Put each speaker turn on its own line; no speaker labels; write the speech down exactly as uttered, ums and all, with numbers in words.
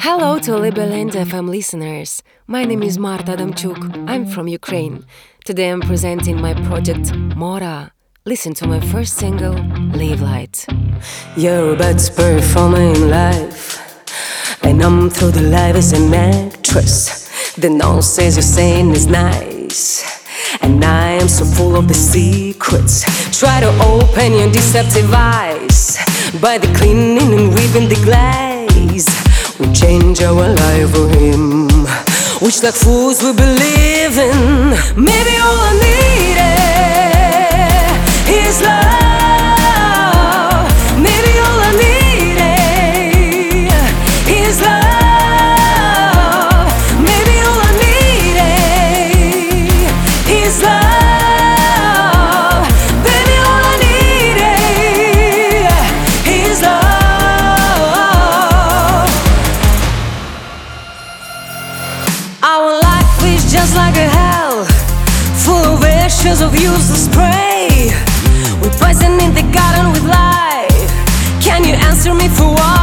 Hello to Liberland F M listeners. My name is Marta Adamchuk. I'm from Ukraine. Today I'm presenting my project Mora. Listen to my first single, Live Light.
You're about to performing live, and I'm through the life as an actress. The nonsense you're saying is nice, and I am so full of the secrets. Try to open your deceptive eyes by the cleaning and ripping the glaze. We change our life for him, which like fools we believe in. Maybe all I need is love. Maybe all I need is love. Maybe all I need is love. Baby, all I need is love. Our life is just like a hell, full of ashes of useless prey. We're poison in the garden with life. Can you answer me for what?